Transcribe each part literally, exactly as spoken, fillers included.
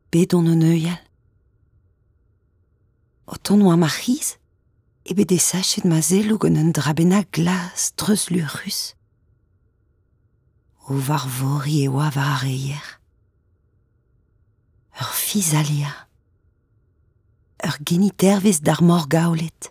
bet on un euial. O ton oa ma c'hiz, e bet e sachet ma zelo gant un drabena glas treuz lurus. O var vori e oa var areier. Ur fiz alia. Ur genitervez d'ar mor gaolet.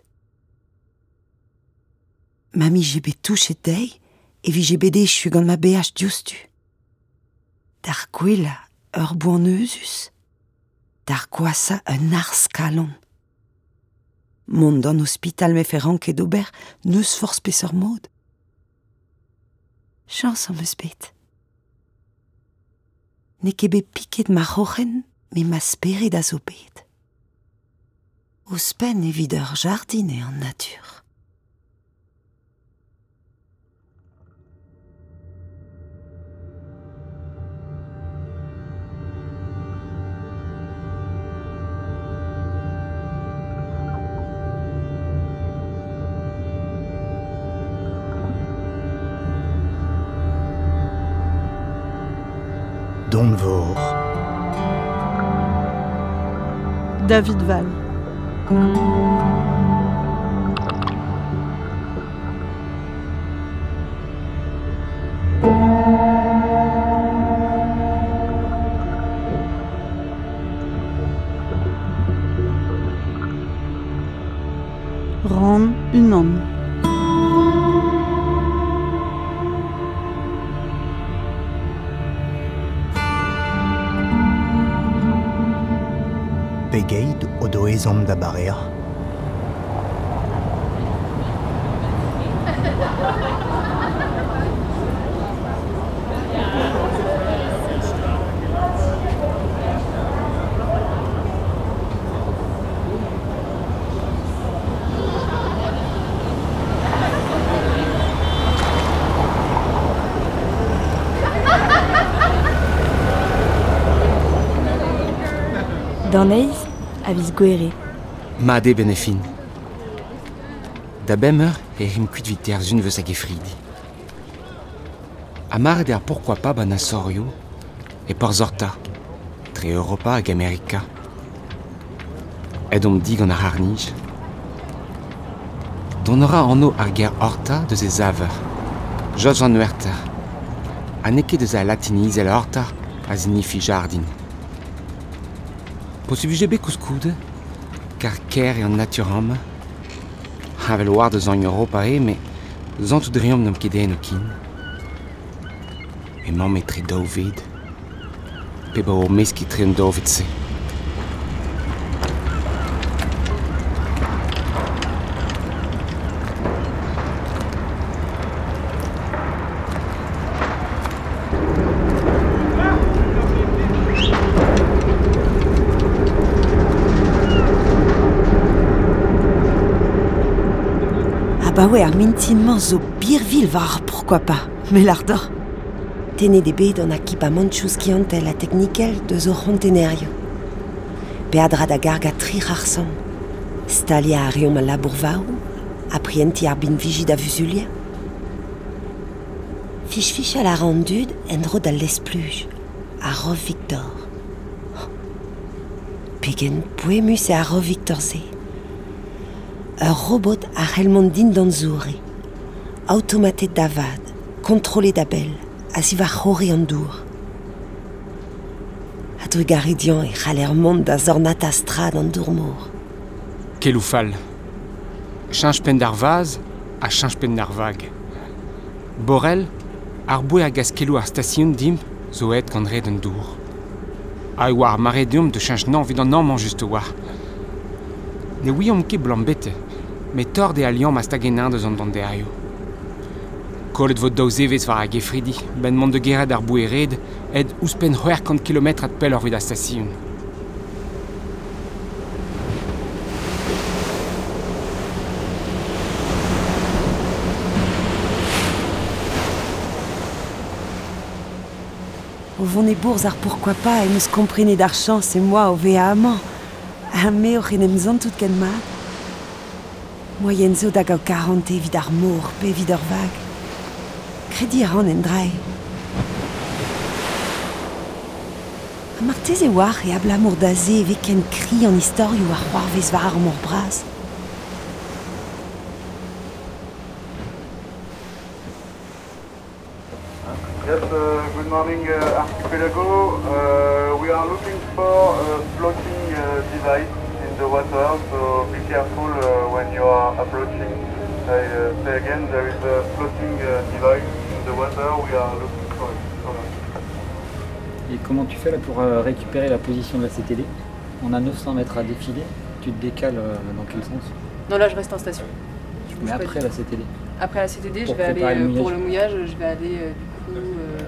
Mami je bet touchet dei, e vi je bet echu gant ma beaj diostu. D'ar gwella ur boaneuzus. D'ar gwasa un ars kalon. Mont d'an ospital me fer ranket d'ober neus force peseur mod. Chans am eus bet. Ne ket bet piket ma c'hoc'hen, me ma speret a zo bet. Ouzpen evit ur jardine an natur. Don Vor. David Val. Ran Unan. Pegeit o do ezhom da barea. Dan eiz, a viz gwere. Made benefin. Da bemmer e rim kuit vit er zun veus hag e fridi. A mar der pourquoi pas ban a sorio e porzorta, tre Europa hag Amerika. Ed om dig an ar harnij. Don ora anno ar ger horta deus e zaver, joj an huerter. A neke deus a latiniz el horta a zinifi jardin. Possible bet kouskoude, car ker e an naturam, havel war deus an Europa e, me zantout driom n'am ket den o kin. E mamm e tre daouved, pe ba o meski tre an daouved se. Bah ouais, ar mintinman zo birvil var pourquoi pas, mais l'ardor. Tene de bet on a kip a manchouz kiantel a technikel de zo rontenerio. Pe adra da garga tri rarsam. Stalia a riom a labour vaou, a prienti ar bin viji da vuzulia. Fich fich a la rendud en dro da l'espluj, a rov Victor. Pegen poemus e a rov Victor ze. Un robot a c'hellmont din d'an zoure. Automatet d'avad, kontrolet d'abel, a si va c'hore an dour. A dru garedian e c'haller mont da zornat a strad an dourmour. Kel oufal. Chanj pen d'ar vaz, a chanj pen d'ar vag. Borel, ar boe a gaskelou ar stasioun dim, zo et gant red an dour. A e war maredium de chanj nan vid an amman just war. Ne ouiom ket blanc bete, me tord e aliam ma stagenin deus an dande aio. Kollet vod daou zevez war hag e fridi, ben mont de gered ar boe red, ed ouzpen c'hwec'hant kilometr at pel ur vid a stasioun. O vont e bourz ar pourquoi pas e neus komprene d'ar chans e moi o veaman. Ha me o c'henem zantout ken mat. Moyen zo da gao karante vid ar mour pe vid ur vag. Kredi a ran en drai. Martez e war e abla mourdaze evit ken kri an istorioù ar c'hoarvez var ar mor braz. Yes, uh, good morning, uh, Archipelago. Uh, we are looking for a floating uh, device in the water, so be careful uh, when you are approaching. I uh, say again, there is a floating uh, device in the water. We are looking for it. Et comment tu fais là pour euh, récupérer la position de la C T D? On a neuf cents mètres à défiler. Tu te décales euh, dans quel sens? Non, là je reste en station. Je Mais après la C T D? Après la C T D, pour je vais aller le euh, pour le mouillage, je vais aller euh, du coup, euh,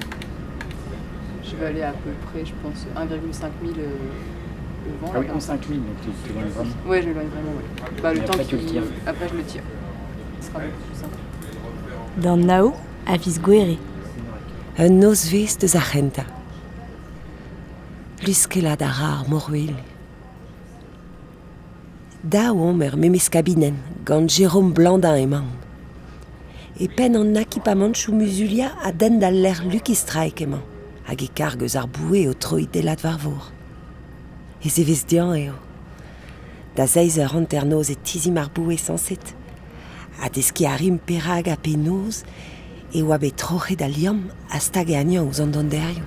je vais aller à peu près, je pense, un virgule cinq mille euh, le vent. Ah oui, un virgule cinq mille, donc tu t'éloignes vraiment. Ouais, je m'éloigne vraiment, ouais. Bah, le Et temps après, tu le qui... tires. Après, je le tire. Ce sera beaucoup plus simple. Dan Nao a viz Gouere. Un nozvez deus argenta. Luskela da rar morwil. Da omer memes kabinen, gant Jérôme Blandin emañ. E pen an akipamentoù musulia a den d'al l'air Lucky Strike emañ, hag e kargeus ar boue o troidelat varvour. E zevez dian eo. Da zeiz eur anternoz e tizim ar boue sanset. A deski a rim perag a penoz, e oa bet trochet a liam a stag e anian ouz an donderioù.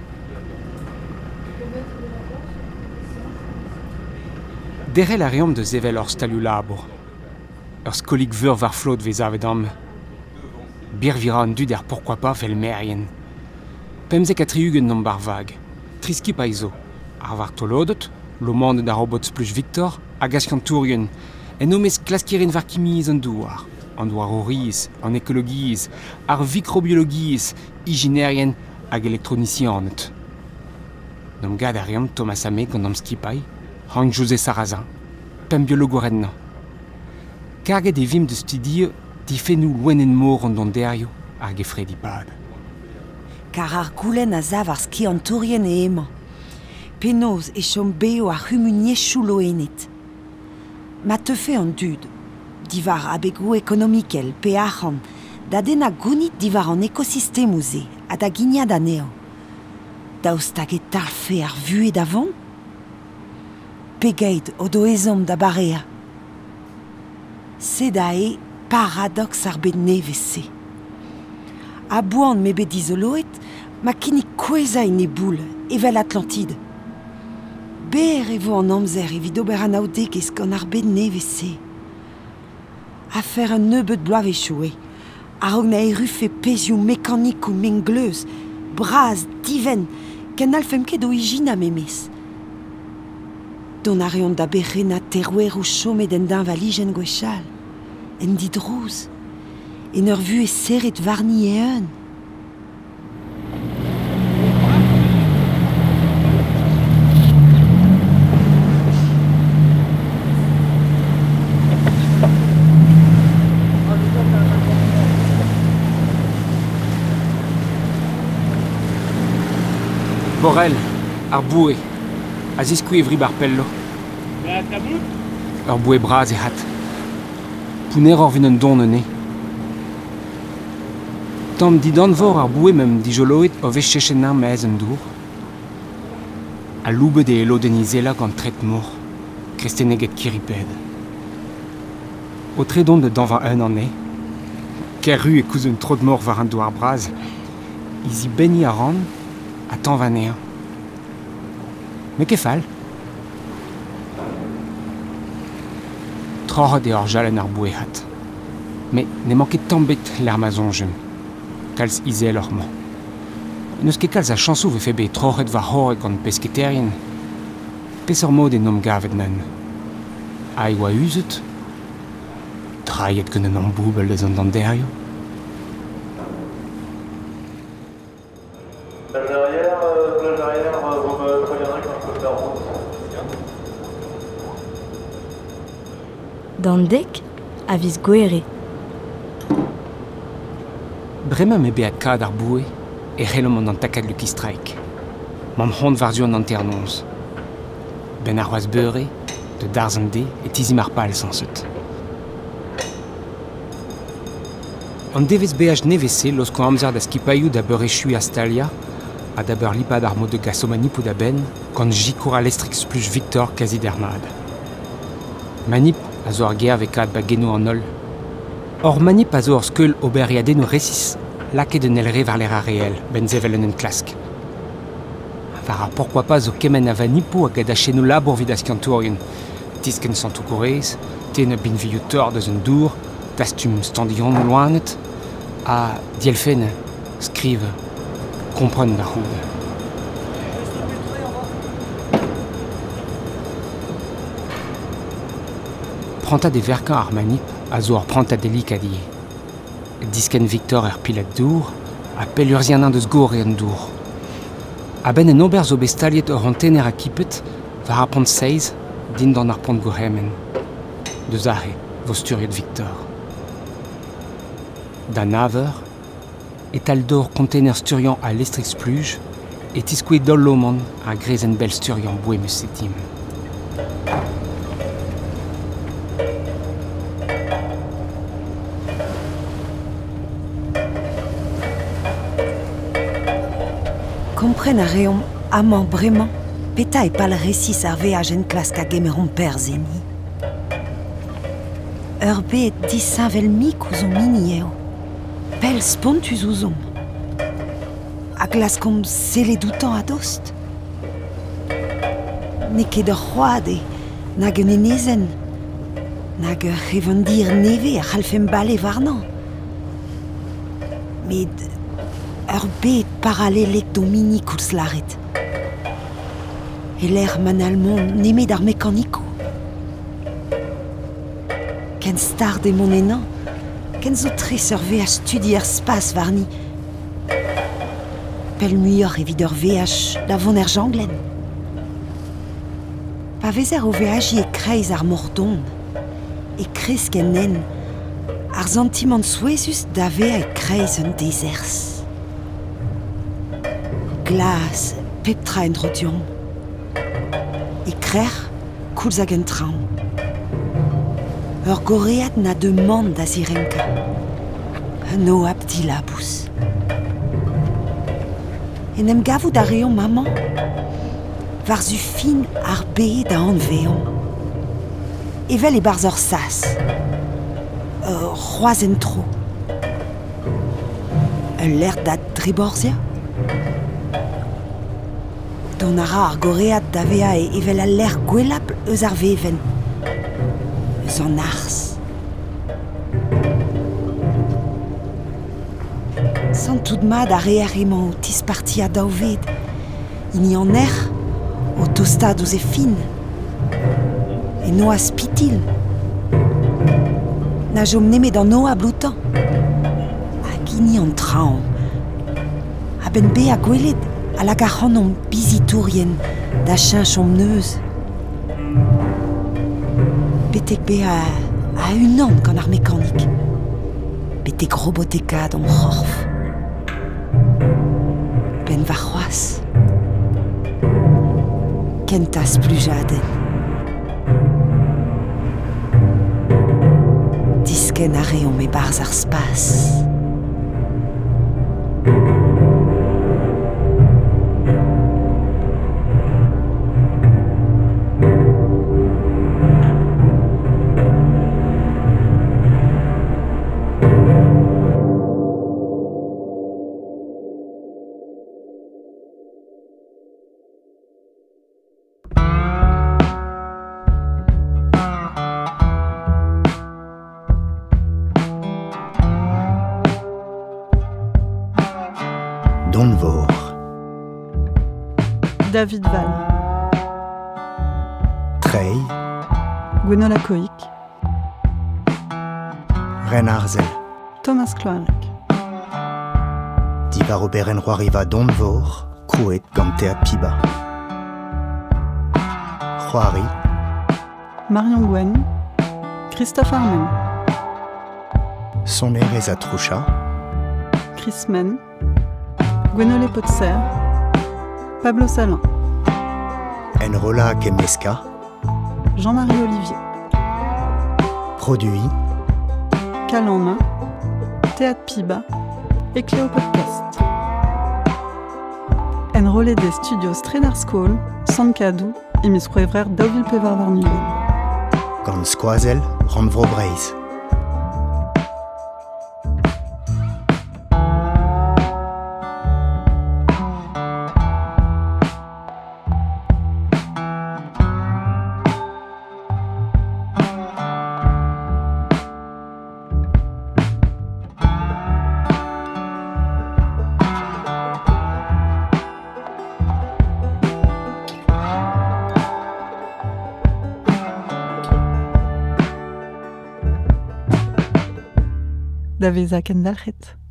Derel a reomp de zevel ur stalioù labour. Ur skolig veur var flot vez avet am. Bir vira an dud er pourquoi pas fel merien. Pemzek a triugen nom bar vag. Triski pa izo. Ar var tolodot, lo mand da robot spluch Victor, hag askantourien. En nomez klaskirin var kimiz an douar. An douar o riz, an ekologiz, ar microbiologiz, hyginerien hag elektronicianet. Nom gad a reomp Thomas Ame gant am skipai, Hank José Sarrazin, pem biologorennan. Karget e vim de studio difennou loen en mor an donderioù hag e fredi pad. Kar ar goulenn a zav ar ski an tourien e emañ. Penoz e chom beo ar humuniechou loenet. Ma teufe an dud, divar a begou ekonomikel pe arc'han, da den a gounit divar an ekosistemou ze, a da gignad aneo. Daoust hag e talfe ar vuet davant? Pegeit o do ezom da barea. Se da e paradox ar bet nevez se. A boan me bet izoloet, ma kinnig kweza en e boule, evel Atlantide. Ber e vo an amzer evit ober an aodegez gant ar bet nevez se. A fer un nebeut bloavechou e, a rog na erufe pezioù mekanik ou mengleuz, braz, diven, ken alfem ket o ijina memez. Don a reont da berre terouer ou chomet en d'un valijen gwechal, en didrouz, en ur vu e serret varni e un. Borel, ar boue, a zeskouez vri bar pello. Ur boue braz e hat. Pouner or vin un don ne. Tamm didan vor ar boue mem dijoloet o vez chechenañ mez un dour. A loubet e elo denizela gant tret mor, krestenneget kiriped. O tredon de danva un an e, ker ru e kouz un trod mor war un douar braz, izi beni a ran, a tan vanea. Me ke fall? Troc'het eo ar jalen ar boue hat. Me ne manket tambet l'er mazonjem. Kalz izel ur man. Neus ket kalz a chansou ve febe troc'het war horret gant pesketerien. Pes ur mod e nom gavet nan. A e oa uzet? Traiet gant an amboubel eus an danderioù. Plage arrière, euh, plage arrière, euh, vous me préviendrez quand je peux faire route. Dan Dek a viz Gouere. Bremañ me beat kad ar boue e c'hellom an an takad Lucky Strike. Mam c'hont varzu an anternonz. Ben ar c'hoaz beure, de darzan de e tizim ar pal sanset. An devez beaj nevez se losko amzer da skipaioù da beurechou a Stalia, a d'abord lipad ar mod de gasomani pou da ben, gant jikour a lestrix plus Victor kazi dermad. Manip a zo ar ger vekad ba geno an ol. Or manip a zo ar skeul ober iaden o resis, lake de nelre var l'era réel, ben zevelen en klask. Var pourquoi pas zo kemen a vanipo a gada chenou labor vidas kantourien, tisken santou korez, ten a bin viou tor deus un dour, tastum standion loanet, a dielfen, skrive, kompren da c'houd. Pranta de verkan ar manip a zo ar pranta delik a die. Disken Victor er pilat dour, a pel urzien an deus gor e an dour. A ben en ober zo bestaliet ur an tener a kipet, var ar pont seiz, din dan ar pont gourhemen. Deus ahe, vo sturiet Victor. Da naver, et al dor kontener sturian a lestrix pluj, et iskouet dol lomant a grezen bel sturian bouemus setim. Kompren a reomp amañ bremañ, peta e pal resis ar veaj en klask a gemeron per zeni. Ur bet disavel mik ouzon mini eo. Pel spontus ouzon. A glaskom seledoutan a dost. Ne ket ur c'hoad e nag un enezen. Nag ur revendir neve a c'halfem bale varnan. Met ur bet paralelek do mini koulz laret. E l'er manalmon nemet ar mekaniko. Ken star de mon enan, ken zo tres ur veaj studi er spas varni. Pel muioc'h evit ur veaj da vont er janglen. Pa vezer o veaji e kreiz ar mordon, e kresk en nen, ar sentiment souezus da vea e kreiz un dezers. Glas, peptra en drodion. E krer, koulz hag un traoñ. Ur goread na demand da zirenka. Un o abdi labous. En em gavout a reomp maman, var zu fin ar be da an veon. Evel e barz ur sas. Ur c'hoazen tro. Un ler da driborzia. Don ara ar goread da vea e evel al ler gwelap eus ar veven. Eus an ars. Sant mad a reer emañ o tisparti a daouved. Ini an er, o tostad ouz e fin. E no a spitil. Na jom nemet an no a bloutan. Hag ini an traoñ. A ben be a gwelet, a lag a c'hanon bizitourien da chinch om neuz. Betek be a, a unan gant ar mekanik. Betek robotekad om c'horf. Ben va c'hoaz. Kentas plujaden. Disken a reomp e barz ar spas. Donvor. David Val. Trey. Gwenola Coic. Ren Arzel. Thomas Cloarec. Divar oberen roariva Donvor, kouet gante a piba. Roari. Marion Gwen. Christophe Armen. Soner ez a troucha. Chris Men. Gwenole Potser. Pablo Salin. Enrola Kemeska. Jean-Marie Olivier. Produit. Cal en main. Théâtre Piba. Et Cléo Podcast. En rollede studio Stredarskol, Sankadu, et mis prevrer daouvil pevar var nuvel. Gant skoazel, ran vro breiz. Da veza ken dalc'het.